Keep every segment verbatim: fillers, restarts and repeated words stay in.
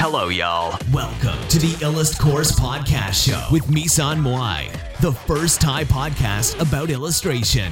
Hello, y'all. Welcome to the Illust Course Podcast Show with Misan Moai, the first Thai podcast about illustration.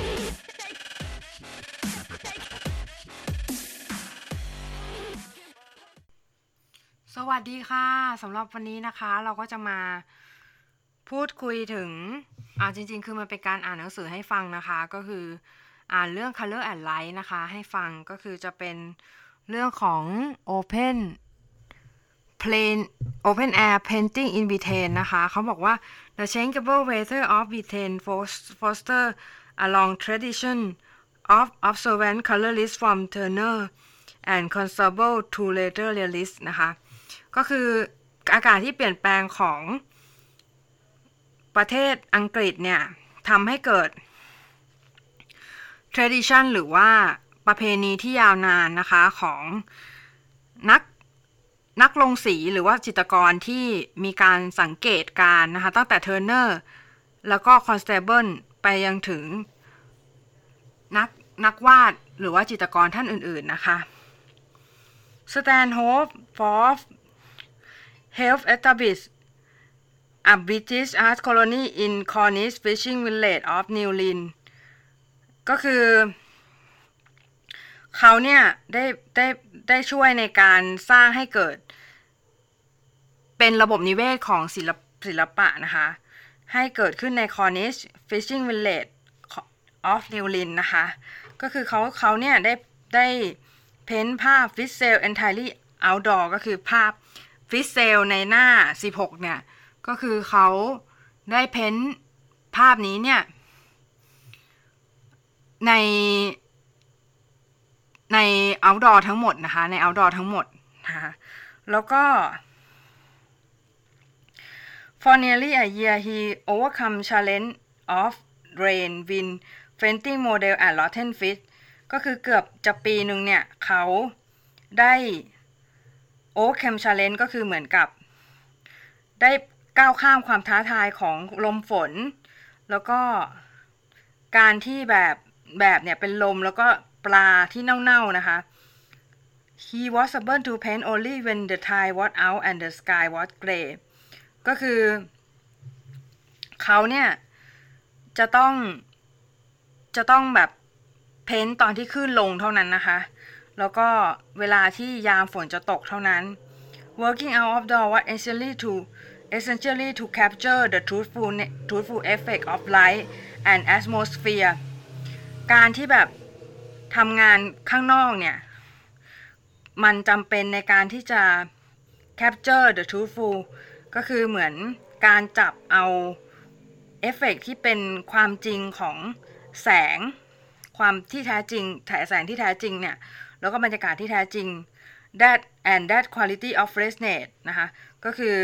สวัสดีค่ะสำหรับวันนี้นะคะเราก็จะมาพูดคุยถึงอ่าจริงๆคือมันเป็นการอ่านหนังสือให้ฟังนะคะก็คืออ่านเรื่อง Color and Light นะคะให้ฟังก็คือจะเป็นเรื่องของ Open Plain Open Air Painting in Britain นะคะเขาบอกว่า The changeable weather of Britain foster a long tradition of observant colorists from Turner and Constable to later realists นะคะก็คืออากาศที่เปลี่ยนแปลงของประเทศอังกฤษเนี่ยทำให้เกิด tradition หรือว่าประเพณีที่ยาวนานนะคะของนักนักลงสีหรือว่าจิตรกรที่มีการสังเกตการนะคะตั้งแต่ Turner แล้วก็ Constable ไปยังถึงนักนักวาดหรือว่าจิตรกรท่านอื่นๆนะคะ Stanhope Forbes helped establish a British art colony in Cornish fishing village of Newlyn ก็คือเขาเนี่ยได้ได้ได้ช่วยในการสร้างให้เกิดเป็นระบบนิเวศของศิลปศิลปะนะคะให้เกิดขึ้นใน Cornish fishing village of Newlyn นะคะก็คือเขาเขาเนี่ยได้ได้เพ้นภาพ fish sail entirely outdoor ก็คือภาพ fish sail ในหน้าสิบหกเนี่ยก็คือเขาได้เพ้นภาพนี้เนี่ยในใน outdoor ทั้งหมดนะคะใน outdoor ทั้งหมดนะคะแล้วก็ for nearly a year he overcome challenge of rain wind painting model and rotten fish ก็คือเกือบจะปีหนึ่งเนี่ยเขาได้ overcome challenge ก็คือเหมือนกับได้ก้าวข้ามความท้าทายของลมฝนแล้วก็การที่แบบแบบเนี่ยเป็นลมแล้วก็ปลาที่เน่าๆนะคะ He was able to paint only when the tide was out and the sky was gray ก็คือเขาเนี่ยจะต้องจะต้องแบบเพ้นตอนที่คลื่นลงเท่านั้นนะคะแล้วก็เวลาที่ยามฝนจะตกเท่านั้น Working out of door was essentially to essentially to capture the truthful truthful effect of light and atmosphere การที่แบบทำงานข้างนอกเนี่ยมันจำเป็นในการที่จะ capture the truthful ก็คือเหมือนการจับเอาเอฟเฟกต์ที่เป็นความจริงของแสงความที่แท้จริงแสงที่แท้จริงเนี่ยแล้วก็บรรยากาศที่แท้จริง that and that quality of freshness นะคะก็คือ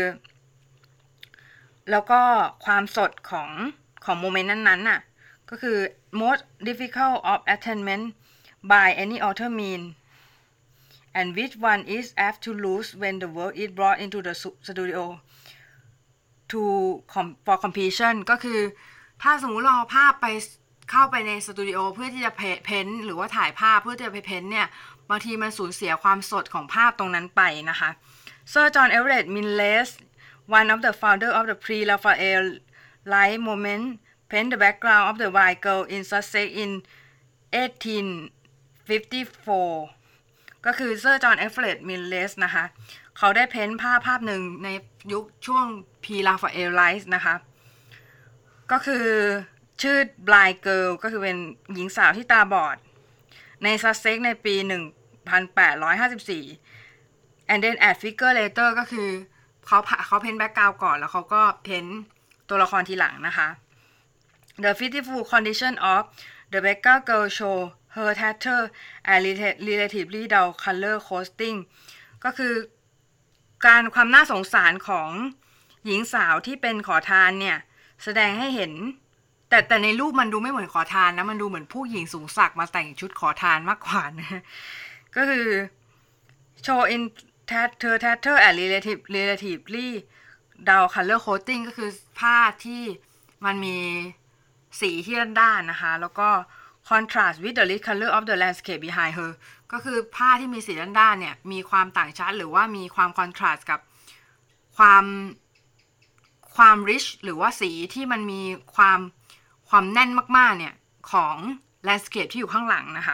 แล้วก็ความสดของของโมเมนต์นั้นๆน่ะก็คือ most difficult of attainment by any author mean and which one is apt to lose when the work is brought into the studio to for completion ก็คือถ้าสมมุติเราเอาภาพไปเข้าไปในสตูดิโอเพื่อที่จะเพ้นหรือว่าถ่ายภาพเพื่อจะไปเพ้นเนี่ยบางทีมันสูญเสียความสดของภาพตรงนั้นไปนะคะ Sir John Everett Millais one of the founder of the pre-Raphael light movement paint the background of the white girl in Sussex in eighteen fifty-four ก็คือ Sir John Everett Millais นะคะเขาได้เพ้นภาพภาพหนึ่งในยุคช่วง pre-Raphael light นะคะก็คือชื่อ Blind Girl ก็คือเป็นหญิงสาวที่ตาบอดใน Sussex ในปีหนึ่งพันแปดร้อยห้าสิบสี่ and then add figure later ก็คือเขาเขาเพ้นแบ็คกราวด์ก่อนแล้วเขาก็เพ้นตัวละครทีหลังนะคะ The pitiful condition of the beggar girl show her tattered and relatively dull color costing ก็คือการความน่าสงสารของหญิงสาวที่เป็นขอทานเนี่ยแสดงให้เห็นแต่แต่ในรูปมันดูไม่เหมือนขอทานนะมันดูเหมือนผู้หญิงสูงศักดิ์มาแต่งชุดขอทานมากกว่านะก็คือ show in tatter tatter and relative relatively dull color coating ก็คือผ้าที่มันมีสีที่ด้านๆนะคะแล้วก็ contrast with the rich color of the landscape behind her ก็คือผ้าที่มีสีด้านๆเนี่ยมีความต่างชัดหรือว่ามีความ contrast กับความความ rich หรือว่าสีที่มันมีความความแน่นมากๆเนี่ยของ landscape ที่อยู่ข้างหลังนะคะ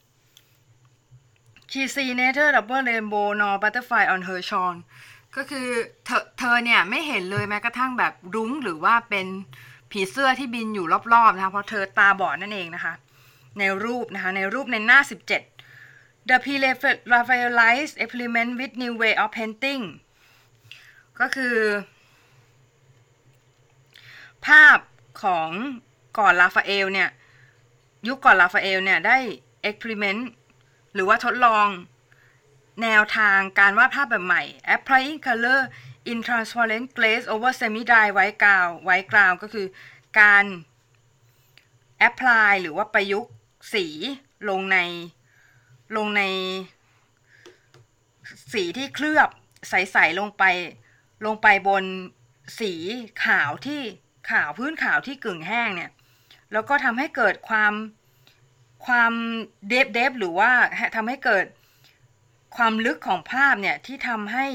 She see neither double rainbow nor butterfly on her shawl ก็คือเธอเธอเนี่ยไม่เห็นเลยแม้กระทั่งแบบรุ้งหรือว่าเป็นผีเสื้อที่บินอยู่รอบๆนะคะเพราะเธอตาบอดนั่นเองนะคะในรูปนะคะในรูปในหน้าสิบเจ็ด The Pre-Raphaelite experiment with new way of painting ก็คือภาพของก่อนลาฟาเอลเนี่ยยุคก่อนลาฟาเอลเนี่ยได้ experiment หรือว่าทดลองแนวทางการวาดภาพแบบใหม่ applying color in transparent glaze over semi-dry white ground white ground ก็คือการ apply หรือว่าประยุกต์สีลงในลงในสีที่เคลือบใสๆลงไปลงไปบนสีขาวที่ขาวพื้นขาวที่กึ่งแห้งเนี่ยแล้วก็ทำให้เกิดความความเดฟเดฟหรือว่าทำให้เกิดความลึกของภาพเนี่ยที่ทำให้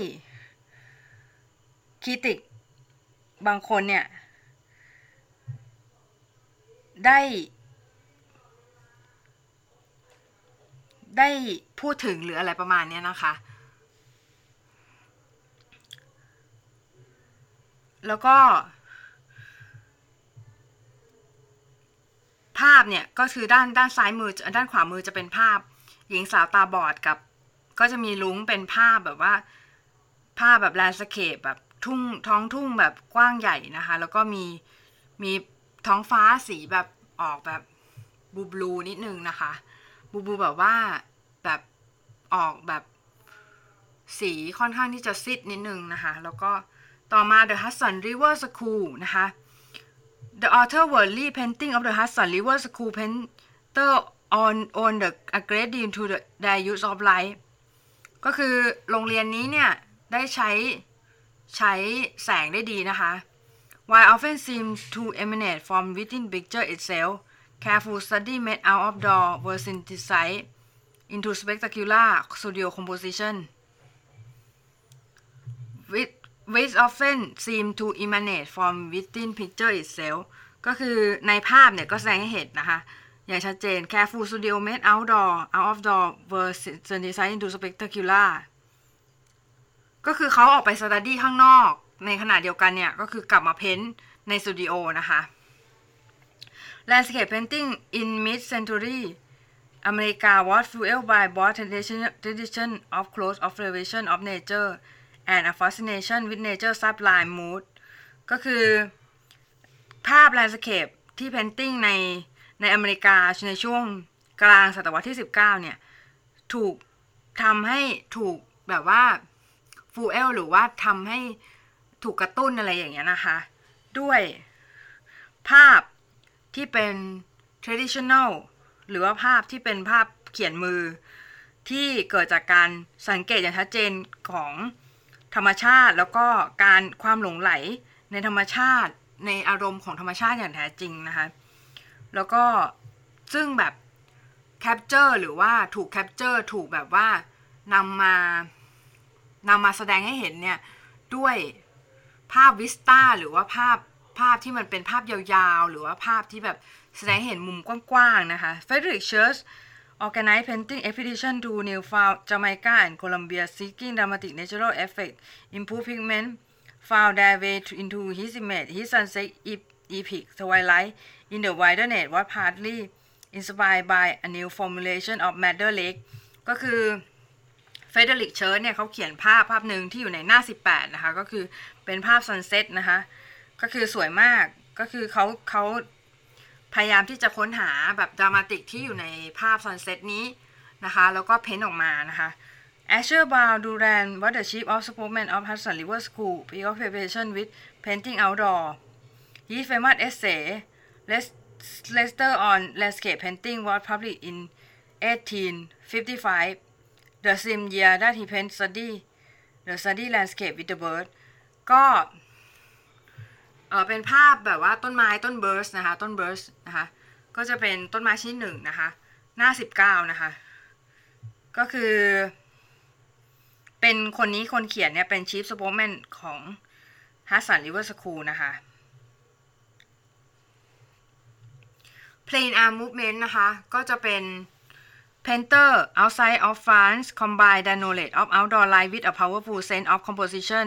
คริติกบางคนเนี่ยได้ได้พูดถึงหรืออะไรประมาณนี้นะคะแล้วก็ภาพเนี่ยก็คือด้านด้านซ้ายมือด้านขวามือจะเป็นภาพหญิงสาวตาบอดกับก็จะมีลุงเป็นภาพแบบว่าภาพแบบแลนด์สเคปแบบทุ่งท้องทุ่งแบบกว้างใหญ่นะคะแล้วก็มีมีท้องฟ้าสีแบบออกแบบบลูบลูนิดนึงนะคะบลูบลูแบบว่าแบบออกแบบสีค่อนข้างที่จะซิดนิดนึงนะคะแล้วก็ต่อมา The Hudson River School นะคะ The author worldly painting of the Hudson River School painter on on the a great deal to the their use of light ก็คือโรงเรียนนี้เนี่ยได้ใช้ใช้แสงได้ดีนะคะ While often seem to emanate from within picture itself careful study made out of door were synthesized into spectacular studio composition which which often seem to emanate from within picture itself ก็คือในภาพเนี่ยก็แสดงให้เห็นนะคะอย่างชัดเจน careful studio made outdoor out of door were synthesized into spectacular ก็คือเขาออกไป study ข้างนอกในขณะเดียวกันเนี่ยก็คือกลับมาเพ้นท์ในสตูดิโอนะคะ Landscape painting in mid-century America was fueled by both tradition of close observation of nature and a fascination with nature's sublime mood ก็คือภาพ landscape ที่ painting ในในอเมริกาในช่วงกลางศตวรรษที่สิบเก้าเนี่ยถูกทำให้ถูกแบบว่า fuel หรือว่าทำให้ถูกกระตุ้นอะไรอย่างเงี้ยนะคะด้วยภาพที่เป็น traditional หรือว่าภาพที่เป็นภาพเขียนมือที่เกิดจากการสังเกตอย่างชัดเจนของธรรมชาติแล้วก็การความหลงไหลในธรรมชาติในอารมณ์ของธรรมชาติอย่างแท้จริงนะคะแล้วก็ซึ่งแบบ capture หรือว่าถูก capture ถูกแบบว่านำมานำมาแสดงให้เห็นเนี่ยด้วยภาพวิสต้าหรือว่าภาพภาพที่มันเป็นภาพยาวๆหรือว่าภาพที่แบบแสดงให้เห็นมุมกว้างๆนะคะ Frederick Church organized painting expedition to Newfoundland, Jamaica and Colombia seeking dramatic natural effect, improved pigment, found their way into his image. His sunset epic twilight in the wilderness was partly inspired by a new formulation of Madder Lake ก็คือ Frederick Church เนี่ยเขาเขียนภาพภาพหนึ่งที่อยู่ในหน้าสิบแปดนะคะก็คือเป็นภาพ sunset นะคะก็คือสวยมากก็คือเขาเขาพยายามที่จะค้นหาแบบดรามาติกที่อยู่ในภาพ sunset นี้นะคะแล้วก็เพ้นออกมานะคะ Asher Brown Duran was the chief of spokesman of Hudson River School preoccupation with painting outdoor. His famous essay Leicester on landscape painting was published in eighteen fifty-five, the same year that he painted study the study landscape with the bird ก็เออเป็นภาพแบบว่าต้นไม้ต้นเบิร์สนะคะต้นเบิร์สนะคะก็จะเป็นต้นไม้ชนิดหนึ่งนะคะหน้าสิบเก้านะคะก็คือเป็นคนนี้คนเขียนเนี่ยเป็น Chief Spokesman ของ Hudson River School นะคะ Plein Air Movement นะคะก็จะเป็น Painter outside of France combine the knowledge of outdoor life with a powerful sense of composition.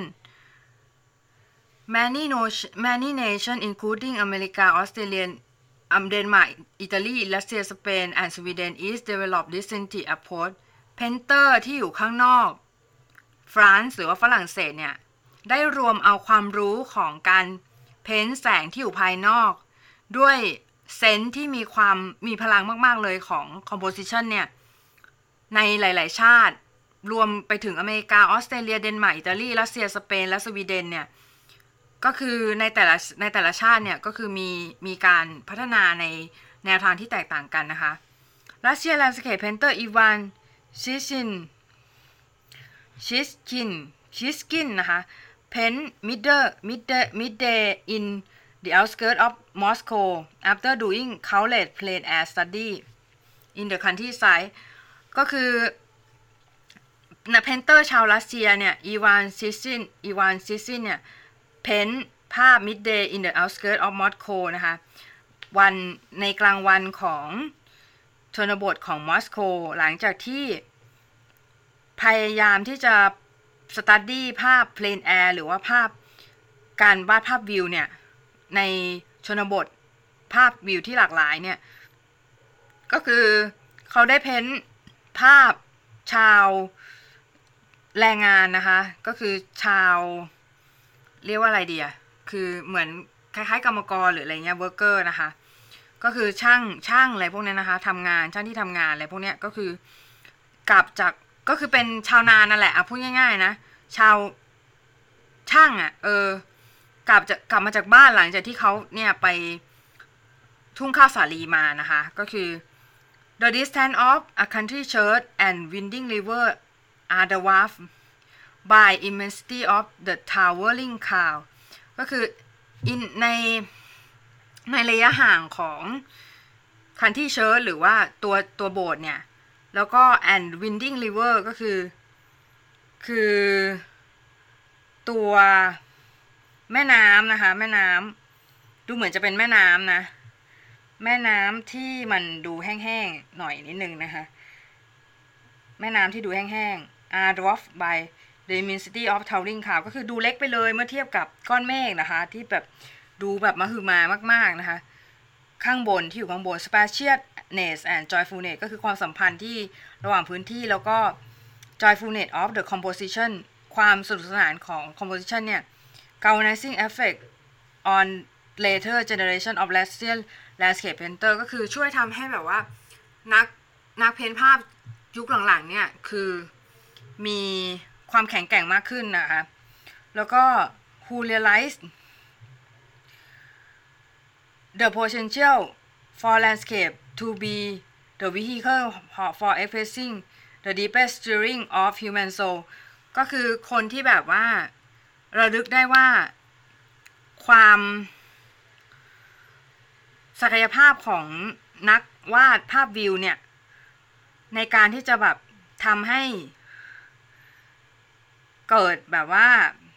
Many no- many nations including America, Australia, um, Denmark, Italy, Russia, Spain, and Sweden each developed distinctive approach. Painter ที่อยู่ข้างนอกฟรานซ์หรือว่าฝรั่งเศสเนี่ยได้รวมเอาความรู้ของการเพ้นท์แสงที่อยู่ภายนอกด้วยเซนส์ที่มีความมีพลังมากๆเลยของ composition เนี่ยในหลายๆชาติรวมไปถึงอเมริกาออสเตรเลียเดนมาร์กอิตาลีรัสเซียสเปนและสวีเดนเนี่ยก็คือในแต่ละในแต่ละชาติเนี่ยก็คือมีมีการพัฒนาในแนวทางที่แตกต่างกันนะคะรัสเซียแลนด์สเคปเพนเตอร์อีวานชิชินชิสกินชิสกินนะคะpaint middle middle midday in the outskirts of Moscow after doing countless plein air study in the countryside ก็คือนักเพนเตอร์ชาวรัสเซียเนี่ยอีวานซิซินอีวานซิซินเนี่ยเพ้นภาพ midday in the outskirts of Moscow นะคะวันในกลางวันของชนบทของมอสโกหลังจากที่พยายามที่จะสตัดดี้ภาพ plein air หรือว่าภาพการวาดภาพวิวเนี่ยในชนบทภาพวิวที่หลากหลายเนี่ยก็คือเขาได้เพ้นภาพชาวแรงงานนะคะก็คือชาวเรียกว่าอะไรดีอ่ะคือเหมือนคล้ายๆกรรมกรหรืออะไรเงี้ย worker นะคะก็คือช่างช่างอะไรพวกนี้นะคะทำงานช่างที่ทำงานอะไรพวกนี้ก็คือกลับจากก็คือเป็นชาวนานั่นแหละอ่ะพูดง่ายๆนะชาวช่างอ่ะเออกลับจะกลับมาจากบ้านหลังจากที่เขาเนี่ยไปทุ่งข้าวสาลีมานะคะก็คือ the distance of a country church and winding river are dwarfed by immensity of the towering cloud ก็คือ in ในในระยะห่างของ country church หรือว่าตัวตัวโบสถ์เนี่ยแล้วก็ and winding river ก็คือคือตัวแม่น้ำนะคะแม่น้ำดูเหมือนจะเป็นแม่น้ำนะแม่น้ำที่มันดูแห้งๆหน่อยนิดนึงนะคะแม่น้ำที่ดูแห้งๆ are dwarfed by the immensity of towering cloud ก็คือดูเล็กไปเลยเมื่อเทียบกับก้อนเมฆนะคะที่แบบดูแบบมหึมามากๆนะคะข้างบนที่อยู่ข้างบน spaciousness and joyfulness ก็คือความสัมพันธ์ที่ระหว่างพื้นที่แล้วก็ joyfulness of the composition ความสนุกสนานของ composition เนี่ย galvanizing effect on later generation of Russian landscape painter ก็คือช่วยทำให้แบบว่านักนักเพ้นภาพยุคหลังๆเนี่ยคือมีความแข็งแกร่งมากขึ้นนะคะแล้วก็ who realized the potential for landscape to be the vehicle for expressing the deepest stirring of human soul ก็คือคนที่แบบว่าระลึกได้ว่าความศักยภาพของนักวาดภาพวิวเนี่ยในการที่จะแบบทำให้เกิดแบบว่า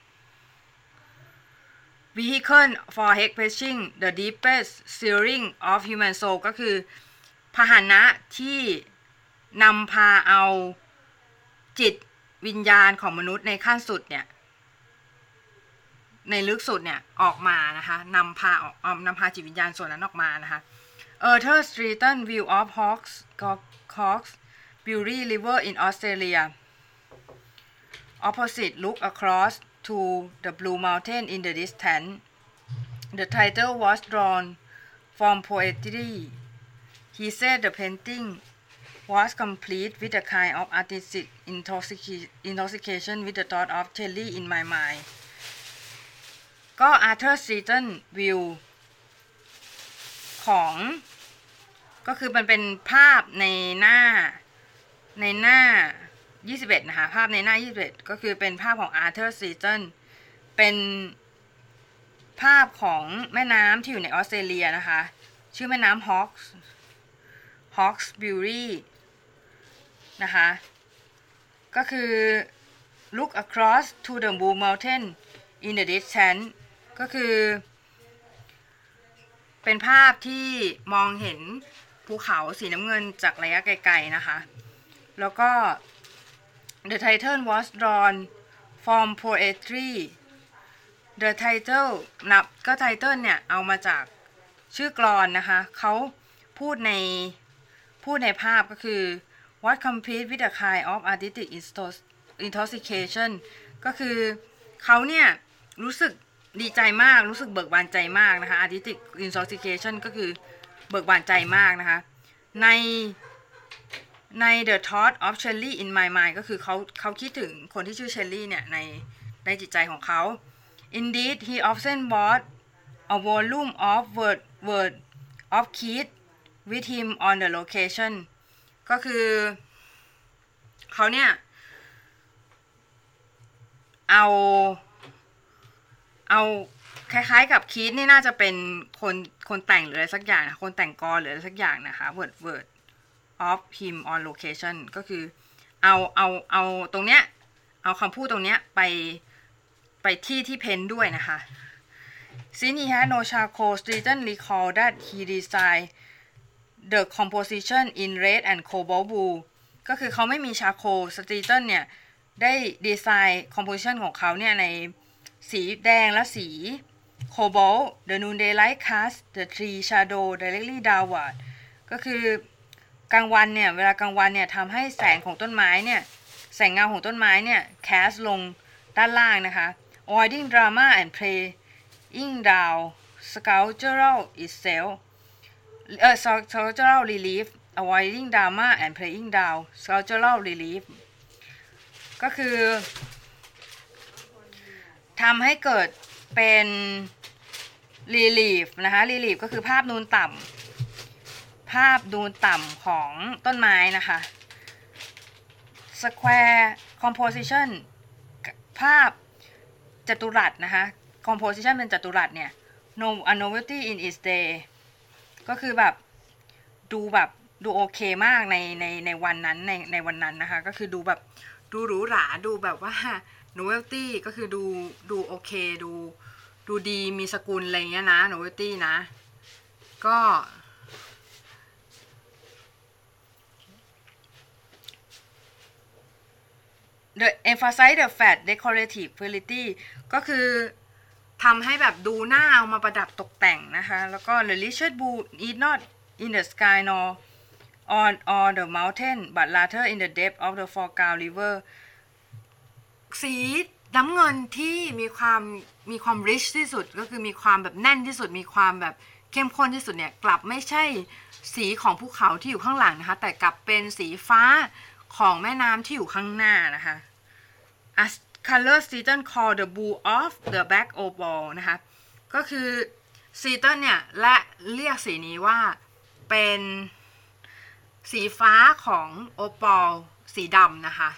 vehicle for expressing the deepest stirring of human soul ก็คือพาหนะที่นำพาเอาจิตวิญญาณของมนุษย์ในขั้นสุดเนี่ยในลึกสุดเนี่ยออกมานะคะนำพาออกนำพาจิตวิญญาณส่วนนั้นออกมานะคะ Arthur Streeton view of Hawks Hawks Bury River in Australia opposite look across to the Blue Mountain in the distance the title was drawn from poetry he said the painting was complete with a kind of artistic intoxication with the thought of Shelley in my mindก็ Arthur Streeton view ของก็คือมันเป็นภาพในหน้าในหน้ายี่สิบเอ็ดนะคะภาพในหน้ายี่สิบเอ็ดก็คือเป็นภาพของ Arthur Streeton เป็นภาพของแม่น้ำที่อยู่ในออสเตรเลียนะคะชื่อแม่น้ำ Hawks Hawkesbury นะคะก็คือ look across to the Blue Mountain in the distance ก็คือเป็นภาพที่มองเห็นภูเขาสีน้ำเงินจากระยะไกลๆนะคะแล้วก็ the title was drawn from poetry the title นับก็ title เนี่ยเอามาจากชื่อกลอนนะคะเขาพูดในพูดในภาพก็คือ what compete with a kind of artistic intoxication ก็คือเขาเนี่ยรู้สึกดีใจมากรู้สึกเบิกบานใจมากนะคะ artistic intoxication ก็คือเบิกบานใจมากนะคะในใน the thought of Shelley in my mind ก็คือเขาเขาคิดถึงคนที่ชื่อ Shelley เนี่ยในในจิตใจของเขา indeed he often brought a volume of word word of Keats with him on the location ก็คือเขาเนี่ยเอาเอาคล้ายๆกับคีทนี่น่าจะเป็นคนคนแต่งหรืออะไรสักอย่างนะคนแต่งกลหรืออะไรสักอย่างนะคะ word word of him on location ก็คือเอาเอาเอาตรงเนี้ยเอาคำพูดตรงเนี้ยไปไปที่ที่เพนด้วยนะคะ Since he had no charcoal, Stevenson recalled that he designed the composition in red and cobalt blue ก็คือเขาไม่มีชาโคล Stevenson เนี่ยได้ดีไซน์ composition ของเขาเนี่ยในสีแดงและสี cobalt the noonday light cast the tree shadow directly downward ก็คือกลางวันเนี่ยเวลากลางวันเนี่ยทำให้แสงของต้นไม้เนี่ยแสงเงาของต้นไม้เนี่ย cast ลงด้านล่างนะคะ avoiding drama and playing down sculptural itself เอ่อ sculptural relief avoiding drama and playing down sculptural relief ก็คือทำให้เกิดเป็น relief นะคะ relief ก็คือภาพนูนต่ำภาพนูนต่ำของต้นไม้นะคะ square composition ภาพจัตุรัสนะคะ composition เป็นจัตุรัสเนี่ย no a novelty in its day ก็คือแบบดูแบบดูโอเคมากในในในวันนั้นในในวันนั้นนะคะก็คือดูแบบดูหรูหราดูแบบว่า novelty ก็คือดูดูโอเคดูดูดีมีสกุลอะไรเงี้ยนะ novelty นะก็ the emphasize the fat decorative quality ก็คือทำให้แบบดูหน้าเอามาประดับตกแต่งนะคะแล้วก็ the richard blue is not in the sky nor on on the mountain but rather in the depth of the foreground river สีน้ำเงินที่มีความมีความ rich ที่สุดก็คือมีความแบบแน่นที่สุดมีความแบบเข้มข้นที่สุดเนี่ยกลับไม่ใช่สีของภูเขาที่อยู่ข้างหลังนะคะแต่กลับเป็นสีฟ้าของแม่น้ำที่อยู่ข้างหน้านะคะ as color Stevenson called the blue of the black opal นะคะก็คือ Stevenson เนี่ยและเรียกสีนี้ว่าเป็นสีฟ้าของโอปอลสีดำนะคะ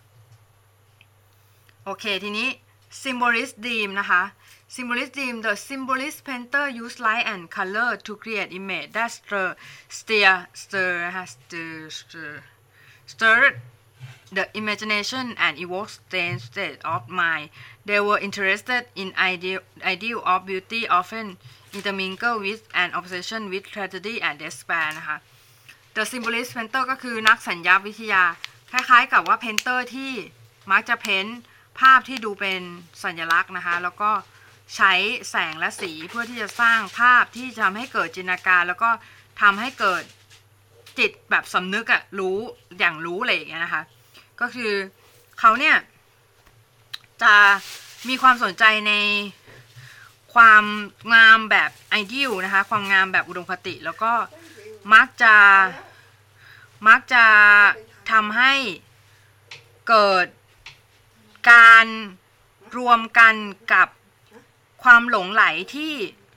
โอเคทีนี้ symbolist dream นะคะ symbolist dream the symbolist painter use light and color to create image that stir stir stir นะคะ stir stir stir the imagination and evoke strange state of mind they were interested in ideal ideal of beauty often intermingled with an obsession with tragedy and despair นะคะ The Symbolist Painter ก็คือนักสัญญาวิทยาคล้ายๆกับว่า Painter ที่มักจะเพ้นภาพที่ดูเป็นสัญลักษณ์นะคะแล้วก็ใช้แสงและสีเพื่อที่จะสร้างภาพที่จะทำให้เกิดจินตนาการแล้วก็ทำให้เกิดจิตแบบสำนึกอะรู้อย่างรู้อะไรอย่างเงี้ยนะคะก็คือเขาเนี่ยจะมีความสนใจในความงามแบบไอเดียลนะคะความงามแบบอุดมคติแล้วก็มักจะมักจะทำให้เกิดการรวมกันกับความหลงไหลที่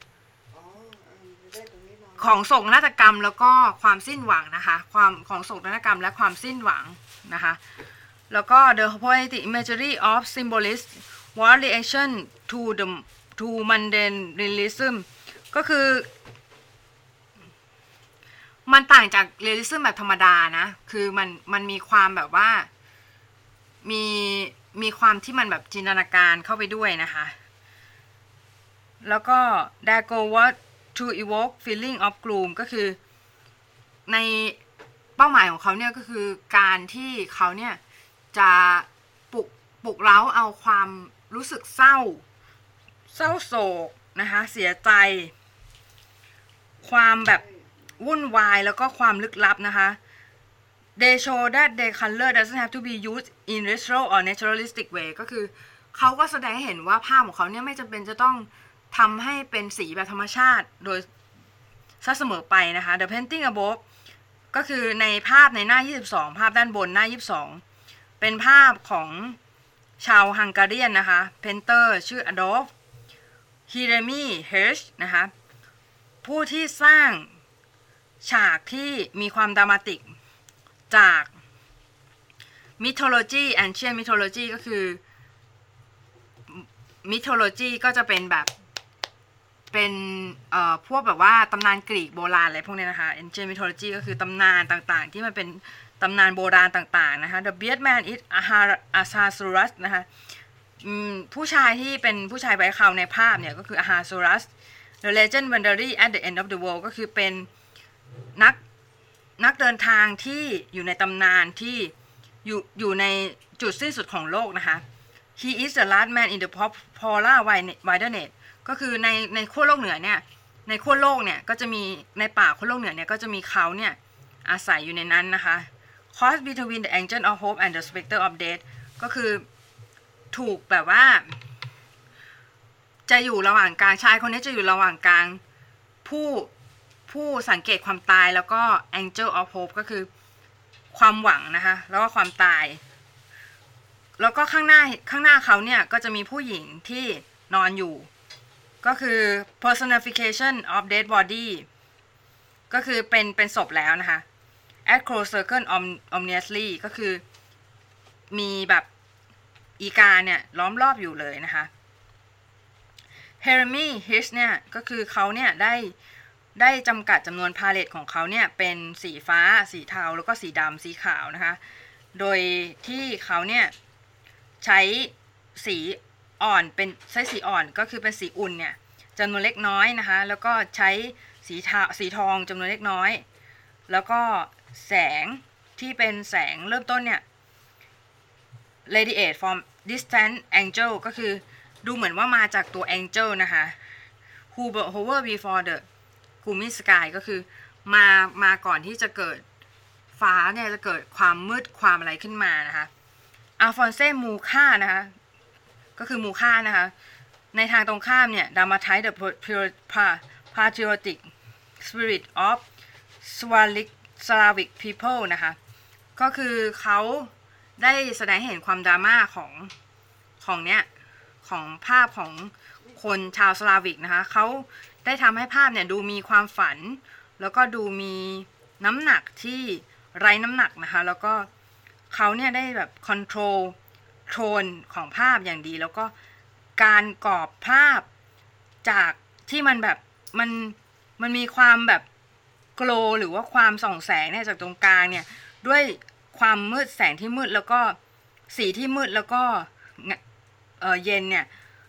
ของโศกนาฏกรรมแล้วก็ความสิ้นหวังนะคะความของโศกนาฏกรรมและความสิ้นหวังนะคะแล้วก็ the poetic imagery of symbolists was reaction to the to mundane realism ก็คือมันต่างจากเรียลลิซึมแบบธรรมดานะคือมันมันมีความแบบว่ามีมีความที่มันแบบจินตนาการเข้าไปด้วยนะคะแล้วก็ there go what to evoke feeling of gloom ก็คือในเป้าหมายของเขาเนี่ยก็คือการที่เขาเนี่ยจะปลุกปลุกเร้าเอาความรู้สึกเศร้าเศร้าโศกนะคะเสียใจความแบบวุ่นวายแล้วก็ความลึกลับนะคะ they show that the color doesn't have to be used in retro or naturalistic way ก็คือเขาก็แสดงให้เห็นว่าภาพของเขาเนี่ยไม่จำเป็นจะต้องทำให้เป็นสีแบบธรรมชาติโดยซะเสมอไปนะคะ the painting above ก็คือในภาพในหน้ายี่สิบสองภาพด้านบนหน้ายี่สิบสองเป็นภาพของชาวฮังการีนนะคะเพนเตอร์ชื่ออดอล์ฟฮีเรมีเฮิร์ชนะคะผู้ที่สร้างฉากที่มีความดรามาติกจาก mythology ancient mythology ก็คือ mythology ก็จะเป็นแบบเป็นเอ่อพวกแบบว่าตำนานกรีกโบราณอะไรพวกนี้นะคะ ancient mythology ก็คือตำนานต่างๆที่มันเป็นตำนานโบราณต่างๆนะคะ the bearded man is Ahasuerus นะคะผู้ชายที่เป็นผู้ชายไว้เคราในภาพเนี่ยก็คือ Ahasuerus the legend wandering at the end of the world ก็คือเป็นนักนักเดินทางที่อยู่ในตำนานที่อยู่อยู่ในจุดสิ้นสุดของโลกนะคะ he is the last man in the polar wilderness ก็คือในในขั้วโลกเหนือเนี่ยในขั้วโลกเนี่ยก็จะมีในป่าขั้วโลกเหนือเนี่ยก็จะมีเขาเนี่ยอาศัยอยู่ในนั้นนะคะ cross between the angel of hope and the specter of death ก็คือถูกแบบว่าจะอยู่ระหว่างกลางชายคนนี้จะอยู่ระหว่างกลางผู้ผู้สังเกตความตายแล้วก็ angel of hope ก็คือความหวังนะคะแล้วก็ความตายแล้วก็ข้างหน้าข้างหน้าเขาเนี่ยก็จะมีผู้หญิงที่นอนอยู่ก็คือ personification of dead body ก็คือเป็นเป็นศพแล้วนะคะ at close circle ominously ก็คือมีแบบอีกาเนี่ยล้อมรอบอยู่เลยนะคะ Jeremy Hirsch เนี่ยก็คือเขาเนี่ยได้ได้จำกัดจำนวนพาเลตของเขาเนี่ยเป็นสีฟ้าสีเทาแล้วก็สีดำสีขาวนะคะโดยที่เขาเนี่ยใช้สีอ่อนเป็นใช้สีอ่อนก็คือเป็นสีอุ่นเนี่ยจำนวนเล็กน้อยนะคะแล้วก็ใช้สีเทาสีทองจำนวนเล็กน้อยแล้วก็แสงที่เป็นแสงเริ่มต้นเนี่ย radiate from distant angel ก็คือดูเหมือนว่ามาจากตัว angel นะคะ who hover before the gloomy sky ก็คือมามาก่อนที่จะเกิดฟ้าเนี่ยจะเกิดความมืดความอะไรขึ้นมานะคะอัลฟอนเซ่มูค่านะคะก็คือมูค่านะคะในทางตรงข้ามเนี่ย dramatize the patriotic spirit of Slavic people นะคะก็คือเขาได้แสดงให้เห็นความดราม่าของของเนี้ยของภาพของคนชาวสลาวิกนะคะเขาได้ทำให้ภาพเนี่ยดูมีความฝันแล้วก็ดูมีน้ำหนักที่ไร้น้ำหนักนะคะแล้วก็เขาเนี่ยได้แบบคอนโทรลโทนของภาพอย่างดีแล้วก็การกรอบภาพจากที่มันแบบมันมันมีความแบบโกลหรือว่าความส่องแสงเนี่ยจากตรงกลางเนี่ยด้วยความมืดแสงที่มืดแล้วก็สีที่มืดแล้วก็เออเย็นเนี่ย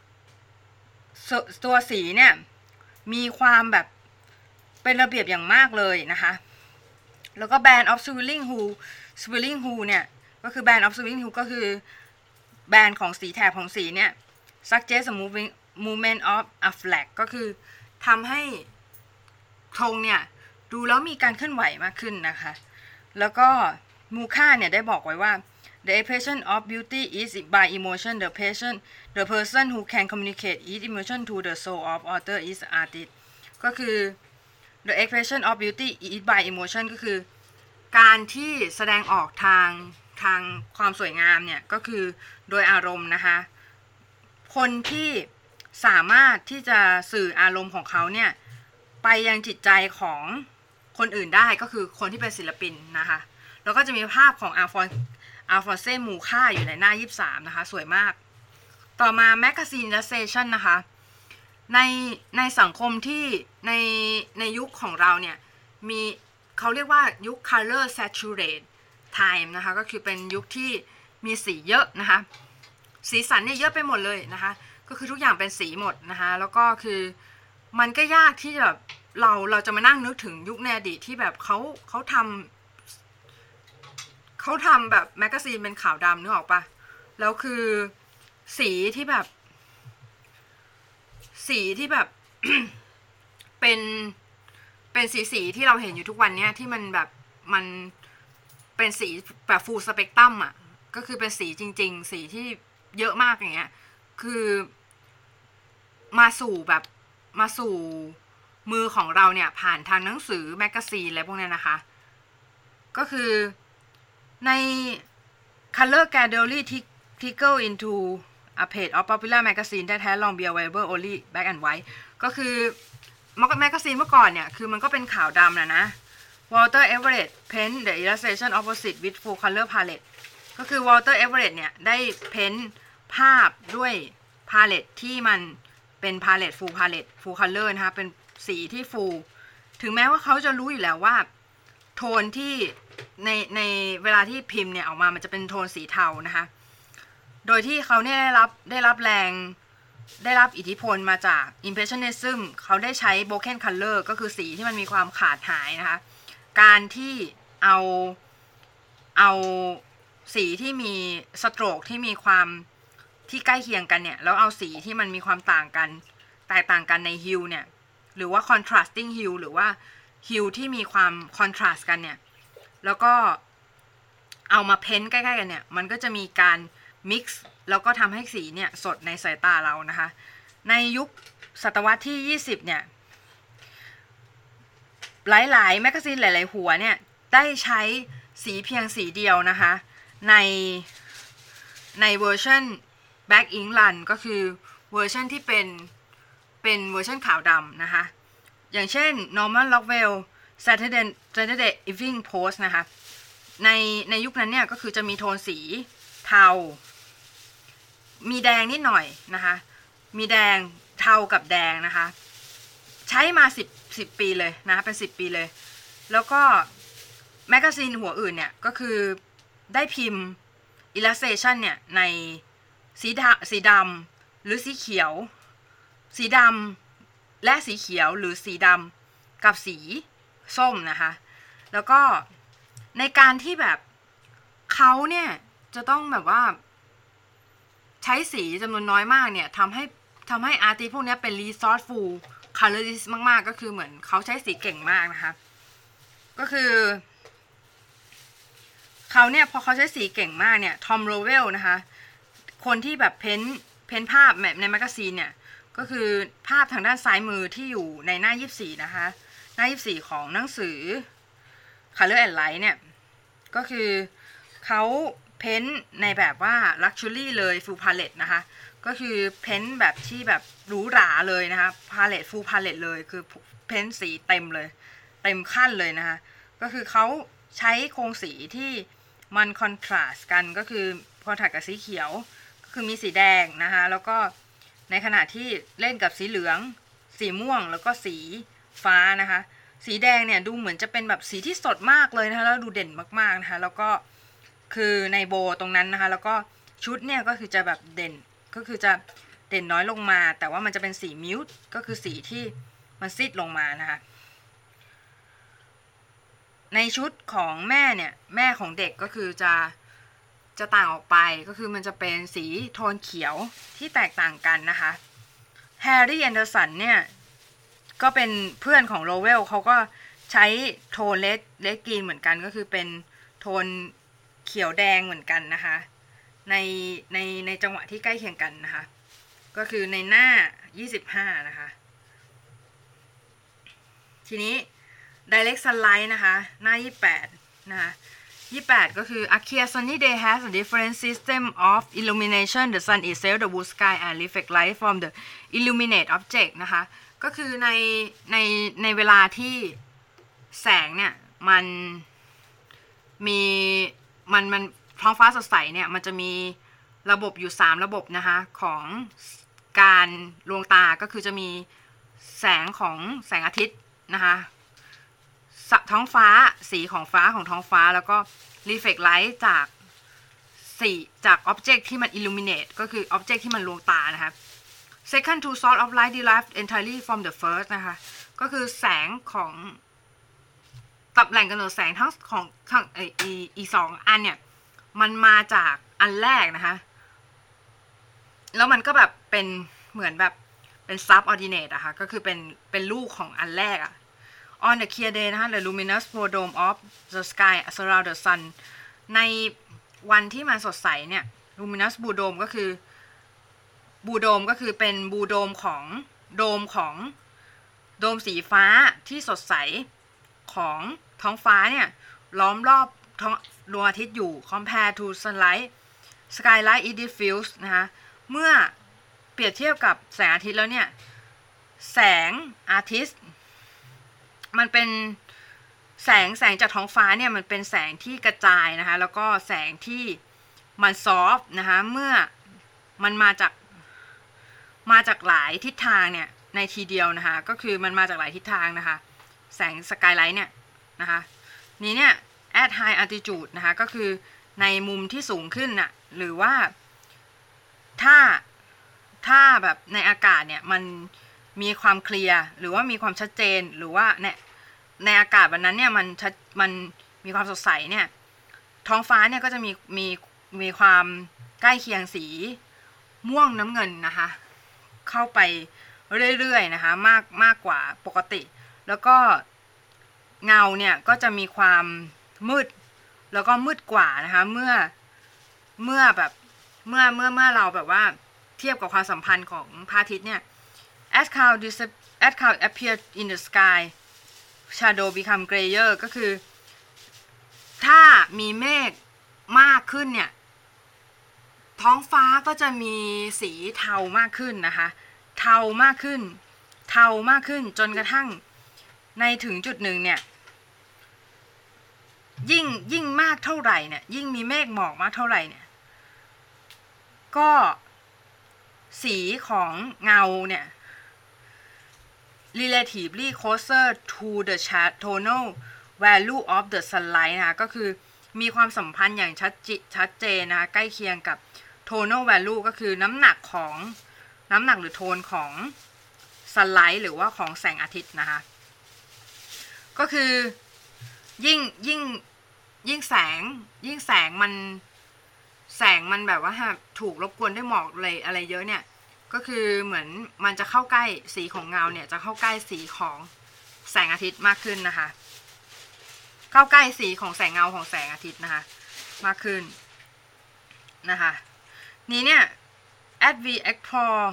ตัวสีเนี่ยมีความแบบเป็นระเบียบอย่างมากเลยนะคะแล้วก็ Band of Swirling Hue Swirling Hue เนี่ยก็คือ Band of Swirling Hue ก็คือแบนของสีแถบของสีเนี่ย suggest a moving movement of a flag ก็คือทำให้ธงเนี่ยดูแล้วมีการเคลื่อนไหวมากขึ้นนะคะแล้วก็มูค่าเนี่ยได้บอกไว้ว่า the expression of beauty is by emotion the person the person who can communicate each emotion to the soul of author is artist ก็คือ the expression of beauty is by emotion ก็คือการที่แสดงออกทางทางความสวยงามเนี่ยก็คือโดยอารมณ์นะคะคนที่สามารถที่จะสื่ออารมณ์ของเขาเนี่ยไปยังจิตใจของคนอื่นได้ก็คือคนที่เป็นศิลปินนะคะแล้วก็จะมีภาพของอาฟอนอาฟอนเซ่มูค่าอยู่ในหน้ายี่สิบสามนะคะสวยมากต่อมา Magazine-ization นะคะในในสังคมที่ในในยุคของเราเนี่ยมีเขาเรียกว่ายุค color saturate time นะคะก็คือเป็นยุคที่มีสีเยอะนะคะสีสันเนี่ยเยอะไปหมดเลยนะคะก็คือทุกอย่างเป็นสีหมดนะคะแล้วก็คือมันก็ยากที่แบบเราเราจะมานั่งนึกถึงยุคในอดีตที่แบบเขาเขาทำเขาทำแบบแมกกาซีนเป็นขาวดำนึกออกปะแล้วคือสีที่แบบสีที่แบบ เป็นเป็นสีสีที่เราเห็นอยู่ทุกวันเนี้ยที่มันแบบมันเป็นสีแบบฟูลสเปกตรัมอ่ะก็คือเป็นสีจริงๆสีที่เยอะมากอย่างเงี้ยคือมาสู่แบบมาสู่มือของเราเนี่ยผ่านทางหนังสือแมกกาซีนอะไรพวกนี้นะคะก็คือใน Color Gallery Tickle into a page of popular magazine that had long been available only black and white ก็คือแมกกาซีนเมื่อก่อนเนี่ยคือมันก็เป็นขาวดำนะนะ Walter Everett paint the illustration opposite with full color palette ก็คือ Walter Everett เนี่ยได้เพ้นภาพด้วยพาเลตที่มันเป็นพาเลต full palette full color นะคะเป็นสีที่ full ถึงแม้ว่าเขาจะรู้อยู่แล้วว่าโทนที่ในในเวลาที่พิมพ์เนี่ยออกมามันจะเป็นโทนสีเทานะคะโดยที่เขาเนี่ยได้รับได้รับแรงได้รับอิทธิพลมาจาก Impressionism เขาได้ใช้ broken color ก็คือสีที่มันมีความขาดหายนะคะการที่เอาเอาสีที่มีสโตรกที่มีความที่ใกล้เคียงกันเนี่ยแล้วเอาสีที่มันมีความต่างกันแตกต่างกันใน hue เนี่ยหรือว่า contrasting hue หรือว่า hue ที่มีความ contrast กันเนี่ยแล้วก็เอามาเพ้นใกล้ๆกันเนี่ยมันก็จะมีการ mix แล้วก็ทำให้สีเนี่ยสดในสายตาเรานะคะในยุคศตวรรษที่ยี่สิบเนี่ยหลายๆแมกกาซีนหลายๆหัวเนี่ยได้ใช้สีเพียงสีเดียวนะคะในในเวอร์ชัน Black Ink Run ก็คือเวอร์ชันที่เป็นเป็นเวอร์ชันขาวดำนะคะอย่างเช่น Norman Rockwell Saturday Saturday Evening Post นะคะในในยุคนั้นเนี่ยก็คือจะมีโทนสีเทามีแดงนิดหน่อยนะคะมีแดงเทากับแดงนะคะใช้มาสิบ สิบปีเลยนะคะเป็นสิบปีเลยแล้วก็แมกกาซีนหัวอื่นเนี่ยก็คือได้พิมพ์ illustration เนี่ยในสีดำสีดำหรือสีเขียวสีดำและสีเขียวหรือสีดำกับสีส้มนะคะแล้วก็ในการที่แบบเขาเนี่ยจะต้องแบบว่าใช้สีจำนวนน้อยมากเนี่ยทำให้ทำให้อาร์ติสต์พวกนี้เป็น resourceful colorist มากๆก็คือเหมือนเขาใช้สีเก่งมากนะคะก็คือเขาเนี่ยพอเขาใช้สีเก่งมากเนี่ยทอมโรเวลนะคะคนที่แบบเพ้นเพ้นภาพแบบในแมกกาซีนเนี่ยก็คือภาพทางด้านซ้ายมือที่อยู่ในหน้ายี่สิบสี่นะคะหน้ายี่สิบสี่ของหนังสือ Color and Light เนี่ยก็คือเขาเพ้นในแบบว่า luxury เลย full palette นะคะก็คือเพ้นแบบที่แบบหรูหราเลยนะคะ palette full palette เลยคือเพ้นสีเต็มเลยเต็มขั้นเลยนะคะก็คือเขาใช้โครงสีที่มันคอนทราสต์กันก็คือคอนทราสต์กับสีเขียวก็คือมีสีแดงนะคะแล้วก็ในขณะที่เล่นกับสีเหลืองสีม่วงแล้วก็สีฟ้านะคะสีแดงเนี่ยดูเหมือนจะเป็นแบบสีที่สดมากเลยนะคะแล้วดูเด่นมากๆนะคะแล้วก็คือในโบตรงนั้นนะคะแล้วก็ชุดเนี่ยก็คือจะแบบเด่นก็คือจะเด่นน้อยลงมาแต่ว่ามันจะเป็นสีมิวต์ก็คือสีที่มันซีดลงมานะคะในชุดของแม่เนี่ยแม่ของเด็กก็คือจะจะต่างออกไปก็คือมันจะเป็นสีโทนเขียวที่แตกต่างกันนะคะแฮร์รี่แอนเดอร์สันเนี่ยก็เป็นเพื่อนของโรเวลเขาก็ใช้โทนเลดเลดกรีนเหมือนกันก็คือเป็นโทนเขียวแดงเหมือนกันนะคะในในในจังหวะที่ใกล้เคียงกันนะคะก็คือในหน้ายี่สิบห้านะคะทีนี้ Direct Sunlight นะคะหน้ายี่สิบแปดนะคะยี่สิบแปดก็คือ A clear sunny day has a different system of illumination the sun itself the blue sky and reflect light from the illuminate object นะคะก็คือในในในเวลาที่แสงเนี่ยมันมีมันมันท้องฟ้าสดใสเนี่ยมันจะมีระบบอยู่สามระบบนะคะของการลวงตาก็คือจะมีแสงของแสงอาทิตย์นะคะท้องฟ้าสีของฟ้าของท้องฟ้าแล้วก็ reflect light จากสีจาก object ที่มัน illuminate ก็คือ object ที่มันลวงตานะคะ second two source of light derived entirely from the first นะคะก็คือแสงของตับแหล่งกำเนิดแสงทั้งของทั้งอีอีสองอันเนี่ยมันมาจากอันแรกนะคะแล้วมันก็แบบเป็นเหมือนแบบเป็น subordinate อะค่ะก็คือเป็นเป็นลูกของอันแรกอะ on the clear day นะคะ the luminous blue dome of the sky surround the sun ในวันที่มันสดใสเนี่ย luminous blue dome ก็คือบูโดมก็คือเป็นบูโดมของโดมของโดมสีฟ้าที่สดใสของท้องฟ้าเนี่ยล้อมรอบท้องดวงอาทิตย์อยู่ compare to sunlight skylight is diffuse นะคะเมื่อเปรียบเทียบกับแสงอาทิตย์แล้วเนี่ยแสงอาทิตย์มันเป็นแสงแสงจากท้องฟ้าเนี่ยมันเป็นแสงที่กระจายนะคะแล้วก็แสงที่มันซอฟต์นะคะเมื่อมันมาจากมาจากหลายทิศทางเนี่ยในทีเดียวนะคะก็คือมันมาจากหลายทิศทางนะคะแสงสกายไลท์เนี่ยนะคะนี้เนี่ย at high altitude นะคะก็คือในมุมที่สูงขึ้นน่ะหรือว่าถ้าถ้าแบบในอากาศเนี่ยมันมีความเคลียร์หรือว่ามีความชัดเจนหรือว่าในในอากาศวันนั้นเนี่ยมันชัดมันมีความสดใสเนี่ยท้องฟ้าเนี่ยก็จะมีมีมีความใกล้เคียงสีม่วงน้ำเงินนะคะเข้าไปเรื่อยๆนะคะมากมากกว่าปกติแล้วก็เงาเนี่ยก็จะมีความมืดแล้วก็มืดกว่านะคะเมื่อเมื่อแบบเมื่อเมื่อเมื่อเราแบบว่าเทียบกับความสัมพันธ์ของพระอาทิตย์เนี่ย as cloud as cloud appear in the sky shadow become grayer ก็คือถ้ามีเมฆมากขึ้นเนี่ยท้องฟ้าก็จะมีสีเทามากขึ้นนะคะเทามากขึ้นเทามากขึ้นจนกระทั่งในถึงจุดหนึ่งเนี่ยยิ่งยิ่งมากเท่าไหร่เนี่ยยิ่งมีเมฆหมอกมากเท่าไหร่เนี่ยก็สีของเงาเนี่ย relatively closer to the tonal value of the sunlight นะคะก็คือมีความสัมพันธ์อย่างชัดจิชัดเจนนะคะใกล้เคียงกับ tonal value ก็คือน้ำหนักของน้ำหนักหรือโทนของ sunlight หรือว่าของแสงอาทิตย์นะคะก็คือยิ่งยิ่งยิ่งแสงยิ่งแสงมันแสงมันแบบว่าถูกรบกวนด้วยหมอกเลยอะไรเยอะเนี่ยก็คือเหมือนมันจะเข้าใกล้สีของเงาเนี่ยจะเข้าใกล้สีของแสงอาทิตย์มากขึ้นนะคะเข้าใกล้สีของแสงเงาของแสงอาทิตย์นะคะมากขึ้นนะคะนี้เนี่ย as we explore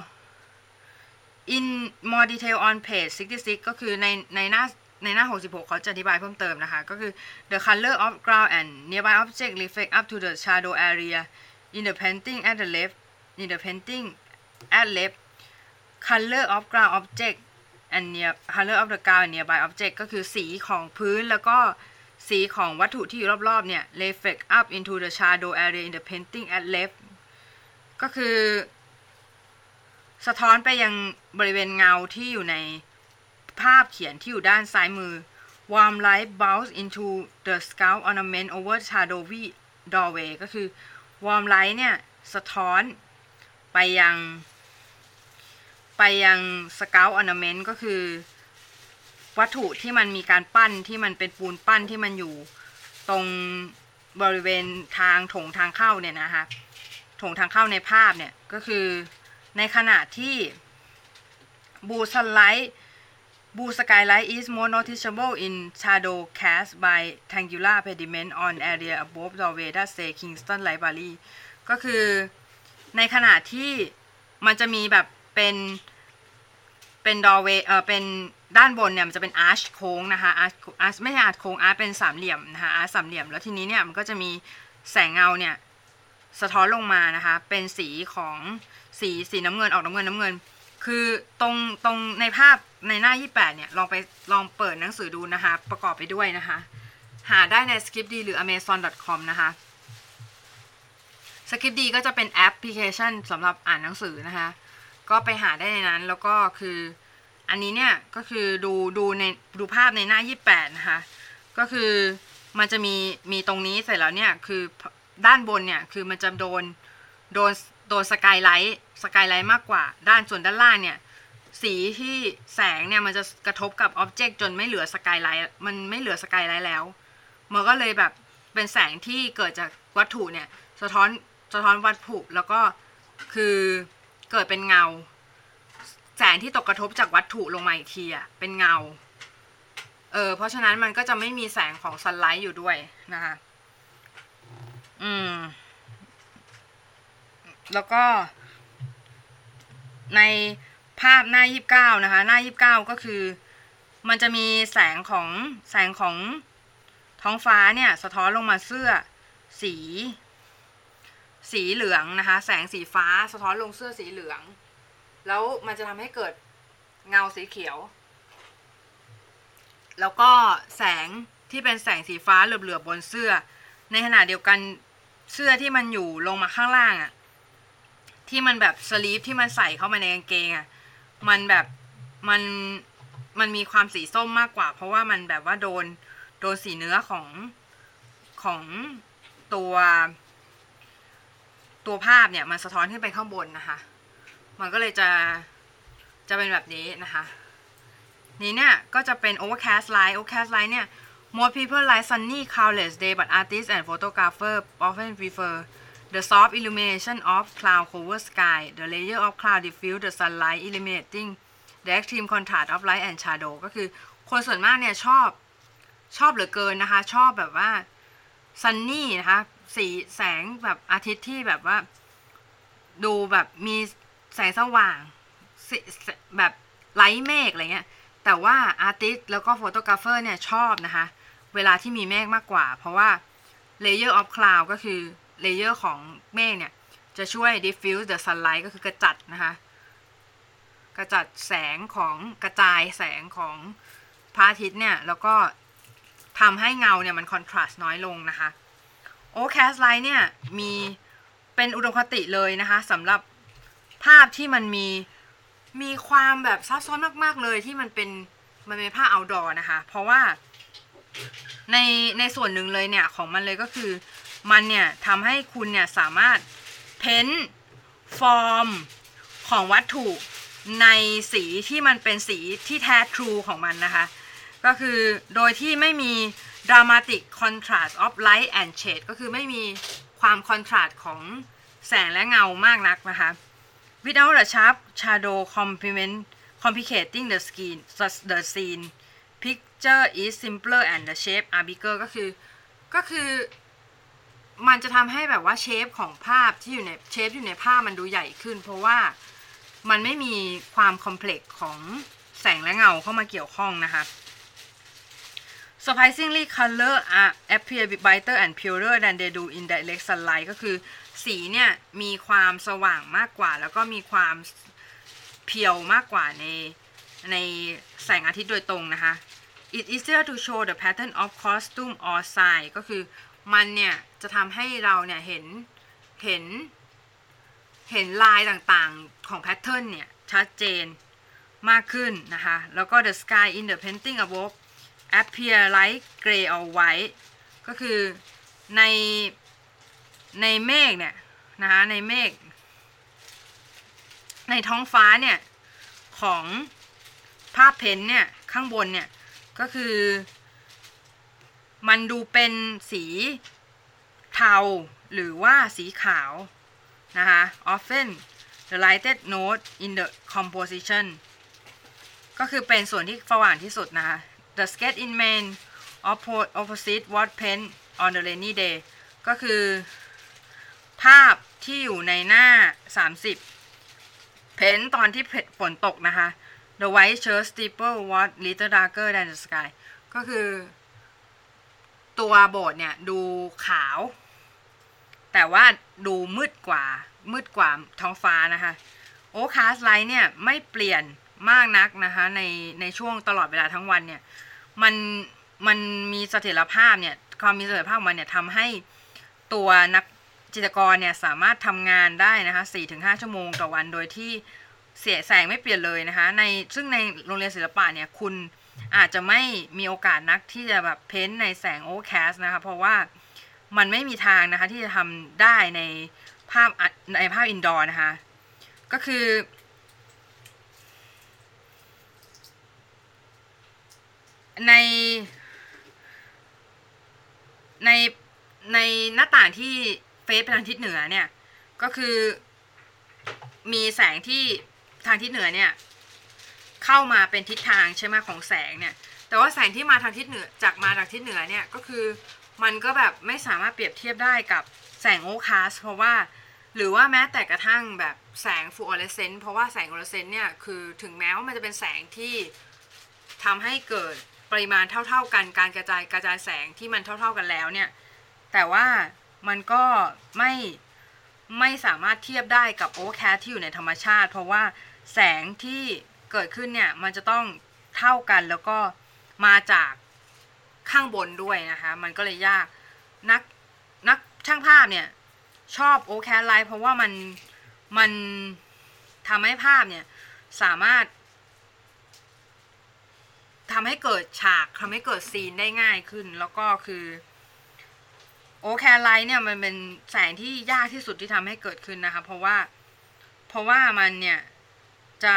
in more detail on page sixty-six ก็คือในในหน้าในหน้าหกสิบหกเขาจะอธิบายเพิ่มเติมนะคะก็คือ the color of ground and nearby object reflect up to the shadow area in the painting at the left in the painting at left color of ground object and near color of the ground and nearby object ก็คือสีของพื้นแล้วก็สีของวัตถุที่อยู่รอบๆเนี่ย reflect up into the shadow area in the painting at left ก็คือสะท้อนไปยังบริเวณเงาที่อยู่ในภาพเขียนที่อยู่ด้านซ้ายมือ warm light bounce into the sculpt ornament over shadowy doorway ก็คือ warm light เนี่ยสะท้อนไปยังไปยัง sculpt ornament ก็คือวัตถุที่มันมีการปั้นที่มันเป็นปูนปั้นที่มันอยู่ตรงบริเวณทางโถงทางเข้าเนี่ยนะคะโถงทางเข้าในภาพเนี่ยก็คือในขณะที่ blue sunlight blue skylight is more noticeable in shadow cast by triangular pediment on area above doorway that say Kingston Library ก็คือในขณะที่มันจะมีแบบเป็นเป็น doorway เอ่อเป็นด้านบนเนี่ยมันจะเป็น arch โค้งนะคะ arch arch ไม่ใช่ arch โค้ง arch เป็นสามเหลี่ยมนะคะ arch สามเหลี่ยมแล้วทีนี้เนี่ยมันก็จะมีแสงเงาเนี่ยสะท้อนลงมานะคะเป็นสีของสีสีน้ำเงินออกน้ำเงินน้ำเงินคือตรงตรงในภาพในหน้ายี่สิบแปดเนี่ยลองไปลองเปิดหนังสือดูนะคะประกอบไปด้วยนะคะหาได้ใน Scriptd หรือ อเมซอน ดอท คอม นะคะ Scriptd ก็จะเป็นแอปพลิเคชันสำหรับอ่านหนังสือนะคะก็ไปหาได้ในนั้นแล้วก็คืออันนี้เนี่ยก็คือดูดูในดูภาพในหน้ายี่สิบแปดนะคะก็คือมันจะมีมีตรงนี้เสร็จแล้วเนี่ยคือด้านบนเนี่ยคือมันจะโดนโดนโดนสกายไลท์สกายไลท์มากกว่าด้านส่วนด้านล่างเนี่ยสีที่แสงเนี่ยมันจะกระทบกับอ็อบเจกต์จนไม่เหลือสกายไลท์มันไม่เหลือสกายไลท์แล้วมันก็เลยแบบเป็นแสงที่เกิดจากวัตถุเนี่ยสะท้อนสะท้อนวัตถุแล้วก็คือเกิดเป็นเงาแสงที่ตกกระทบจากวัตถุลงมาอีกทีอ่ะเป็นเงาเออเพราะฉะนั้นมันก็จะไม่มีแสงของซันไลท์อยู่ด้วยนะคะอืมแล้วก็ในภาพหน้ายี่สิบเก้านะคะหน้ายี่สิบเก้าก็คือมันจะมีแสงของแสงของท้องฟ้าเนี่ยสะท้อนลงมาเสื้อสีสีเหลืองนะคะแสงสีฟ้าสะท้อนลงเสื้อสีเหลืองแล้วมันจะทำให้เกิดเงาสีเขียวแล้วก็แสงที่เป็นแสงสีฟ้าเหลือบๆบนเสื้อในขณะเดียวกันเสื้อที่มันอยู่ลงมาข้างล่างอ่ะที่มันแบบสลีฟที่มันใส่เข้ามาในกางเกงอ่ะมันแบบมันมันมีความสีส้มมากกว่าเพราะว่ามันแบบว่าโดนโดนสีเนื้อของของตัวตัวภาพเนี่ยมันสะท้อนขึ้นไปข้างบนนะคะมันก็เลยจะจะเป็นแบบนี้นะคะนี้เนี่ยก็จะเป็น overcast light overcast light เนี่ย most people like sunny cloudless day but artists and photographers often prefer the soft illumination of cloud cover sky the layer of cloud diffuse the sunlight eliminating the extreme contrast of light and shadow ก็คือคนส่วนมากเนี่ยชอบชอบเหลือเกินนะคะชอบแบบว่า sunny นะคะสีแสงแบบอาทิตย์ที่แบบว่าดูแบบมีแสงสว่างแบบไร้เมฆอะไรเงี้ยแต่ว่าอาร์ติสต์แล้วก็โฟโตกราฟเฟอร์เนี่ยชอบนะคะเวลาที่มีเมฆมากกว่าเพราะว่า layer of cloud ก็คือ layer ของเมฆเนี่ยจะช่วย diffuse the sunlight ก็คือกระจัดนะคะกระจัดแสงของกระจายแสงของพระอาทิตย์เนี่ยแล้วก็ทำให้เงาเนี่ยมันคอนทราสต์น้อยลงนะคะ overcast light เนี่ยมีเป็นอุดมคติเลยนะคะสำหรับภาพที่มันมีมีความแบบซับซ้อนมากๆเลยที่มันเป็นมันเป็นภาพ outdoor นะคะเพราะว่าในในส่วนหนึ่งเลยเนี่ยของมันเลยก็คือมันเนี่ยทำให้คุณเนี่ยสามารถเพ้นฟอร์มของวัตถุในสีที่มันเป็นสีที่แท้ทรูของมันนะคะก็คือโดยที่ไม่มี dramatic contrast of light and shade ก็คือไม่มีความคอนทราสต์ของแสงและเงามากนักนะคะ without the sharp shadow complement complicating the scene the scene picture is simpler and the shape are bigger ก็คือก็คือมันจะทำให้แบบว่าเชฟของภาพที่อยู่ในเชฟอยู่ในภาพมันดูใหญ่ขึ้นเพราะว่ามันไม่มีความคอมเพล็กซ์ของแสงและเงาเข้ามาเกี่ยวข้องนะคะ surprisingly color are appear brighter and purer than they do in direct sunlight ก็คือสีเนี่ยมีความสว่างมากกว่าแล้วก็มีความเพียวมากกว่าในในแสงอาทิตย์โดยตรงนะคะ It's easier to show the pattern of costume or sign ก็คือมันเนี่ยจะทำให้เราเนี่ยเห็นเห็นเห็นลายต่างๆของแพทเทิร์นเนี่ยชัดเจนมากขึ้นนะคะแล้วก็ the sky in the painting above appear like gray or white ก็คือในในเมฆเนี่ยนะคะในเมฆในท้องฟ้าเนี่ยของภาพเพ้นเนี่ยข้างบนเนี่ยก็คือมันดูเป็นสีเทาหรือว่าสีขาวนะคะ often the lightest note in the composition ก็คือเป็นส่วนที่สว่างที่สุดนะคะ the sketch in main opposite what paint on the rainy day ก็คือภาพที่อยู่ในหน้าสามสิบเพ้นตอนที่ฝนตกนะคะ the white church steeple was little darker than the sky ก็คือตัวโบสถ์เนี่ยดูขาวแต่ว่าดูมืดกว่ามืดกว่าท้องฟ้านะคะ overcast light เนี่ยไม่เปลี่ยนมากนักนะคะในในช่วงตลอดเวลาทั้งวันเนี่ยมันมันมีเสถียรภาพเนี่ยความมีเสถียรภาพมันเนี่ยทำให้ตัวนักจิตรกรเนี่ยสามารถทำงานได้นะคะ สี่ถึงห้า ชั่วโมงต่อวันโดยที่เสียแสงไม่เปลี่ยนเลยนะคะในซึ่งในโรงเรียนศิลปะเนี่ยคุณอาจจะไม่มีโอกาสนักที่จะแบบเพ้นท์ในแสงโอเวอร์แคสต์นะคะเพราะว่ามันไม่มีทางนะคะที่จะทำได้ในภาพในภาพอินดอร์นะคะก็คือในในในหน้าต่างที่เฟซไปทางทิศเหนือเนี่ยก็คือมีแสงที่ทางทิศเหนือเนี่ยเข้ามาเป็นทิศทางใช่ไหมของแสงเนี่ยแต่ว่าแสงที่มาทางทิศเหนือจากมาจากทิศเหนือเนี่ยก็คือมันก็แบบไม่สามารถเปรียบเทียบได้กับแสงโอเวอร์แคสต์เพราะว่าหรือว่าแม้แต่กระทั่งแบบแสงฟลูออเรสเซนต์เพราะว่าแสงฟลูออเรสเซนต์เนี่ยคือถึงแม้ว่ามันจะเป็นแสงที่ทำให้เกิดปริมาณเท่าๆกันการกระจายกระจายแสงที่มันเท่าๆกันแล้วเนี่ยแต่ว่ามันก็ไม่ไม่สามารถเทียบได้กับโอเวอร์แคสต์ที่อยู่ในธรรมชาติเพราะว่าแสงที่เกิดขึ้นเนี่ยมันจะต้องเท่ากันแล้วก็มาจากข้างบนด้วยนะคะมันก็เลยยากนักนักช่างภาพเนี่ยชอบโอเวอร์แคสต์ไลท์เพราะว่ามันมันทำให้ภาพเนี่ยสามารถทำให้เกิดฉากทำให้เกิดซีนได้ง่ายขึ้นแล้วก็คือโอเวอร์แคสต์ไลท์เนี่ยมันเป็นแสงที่ยากที่สุดที่ทำให้เกิดขึ้นนะคะเพราะว่าเพราะว่ามันเนี่ยจะ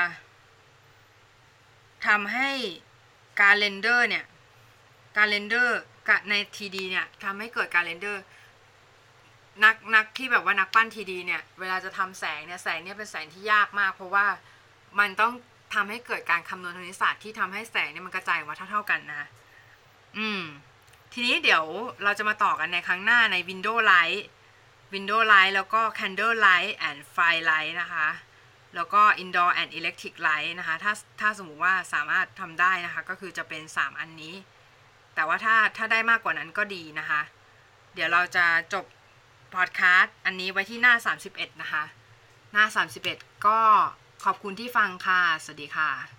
ทำให้การเรนเดอร์เนี่ยการเรนเดอร์ใน ที ดี เนี่ยทำให้เกิดการเรนเดอร์นักนักที่แบบว่านักปั้น ที ดี เนี่ยเวลาจะทำแสงเนี่ยแสงเนี่ยเป็นแสงที่ยากมากเพราะว่ามันต้องทำให้เกิดการคำนวณคณิตศาสตร์ที่ทำให้แสงเนี่ยมันกระจายออกมาเท่าๆกันนะอืมทีนี้เดี๋ยวเราจะมาต่อกันในครั้งหน้าใน Window Light Window Light แล้วก็ Candle Light and Firelight นะคะแล้วก็ Indoor and Electric Light นะคะถ้าถ้าสมมุติว่าสามารถทำได้นะคะก็คือจะเป็นสามอันนี้แต่ว่าถ้าถ้าได้มากกว่านั้นก็ดีนะคะเดี๋ยวเราจะจบพอดแคสต์อันนี้ไว้ที่หน้าสามสิบเอ็ดนะคะหน้าสามสิบเอ็ดก็ขอบคุณที่ฟังค่ะสวัสดีค่ะ